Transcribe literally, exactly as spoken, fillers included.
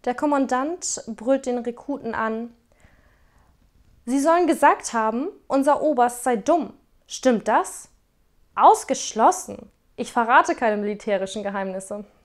Der Kommandant brüllt den Rekruten an: Sie sollen gesagt haben, unser Oberst sei dumm. Stimmt das? Ausgeschlossen. Ich verrate keine militärischen Geheimnisse.